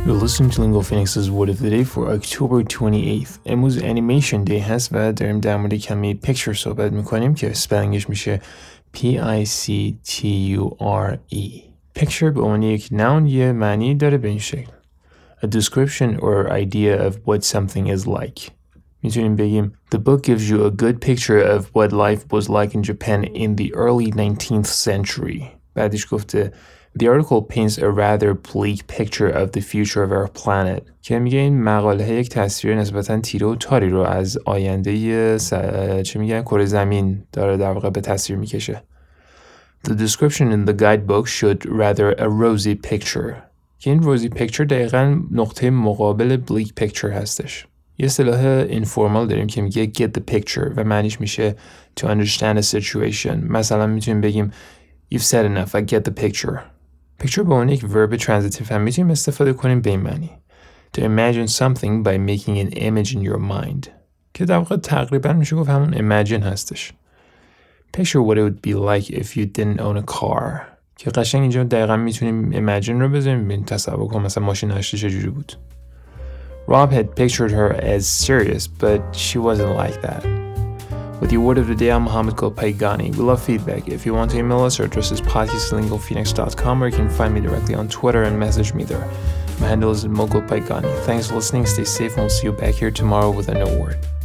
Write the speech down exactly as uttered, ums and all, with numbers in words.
You're listening to Lingo Phoenix's Word of the Day for October twenty-eighth. امروز Animation Day هست و داریم در مورد کلمه picture صحبت میکنیم که spellingش میشه P I C T U R E. Picture به عنوان یک noun یه معنی داره به این شکل. A description or idea of what something is like. میتونیم بگیم The book gives you a good picture of what life was like in Japan in the early nineteenth century. بعدش گفته The article paints a rather bleak picture of the future of our planet. که میگه این مقاله یک تصویر نسبتاً تیره و تاری رو از آینده س... چه میگن کره زمین داره در واقع به تصویر میکشه. The description in the guidebook showed rather a rosy picture. که این rosy picture دقیقاً نقطه مقابل bleak picture هستش. یه اصطلاح informal داریم که میگه get the picture و معنیش میشه to understand a situation. مثلا میتونیم بگیم You've said enough, I get the picture. picture به عنوان یک verb transitive هم میتونیم استفاده کنیم به این معنی. To imagine something by making an image in your mind. که در واقع تقریبا میشه گفت همون imagine هستش. Picture what it would be like if you didn't own a car. که قشنگ اینجا دقیقا میتونیم imagine رو بذاریم ببین تصور کنیم مثلا ماشین هاشتی چجوری بود. Rob had pictured her as serious, but she wasn't like that. With your word of the day, I'm Mohammed Golpaigani. We love feedback. If you want to email us, our address is podcast at lingo phoenix dot com, or you can find me directly on Twitter and message me there. My handle is Mogul Paigani. Thanks for listening. Stay safe, and we'll see you back here tomorrow with a new word.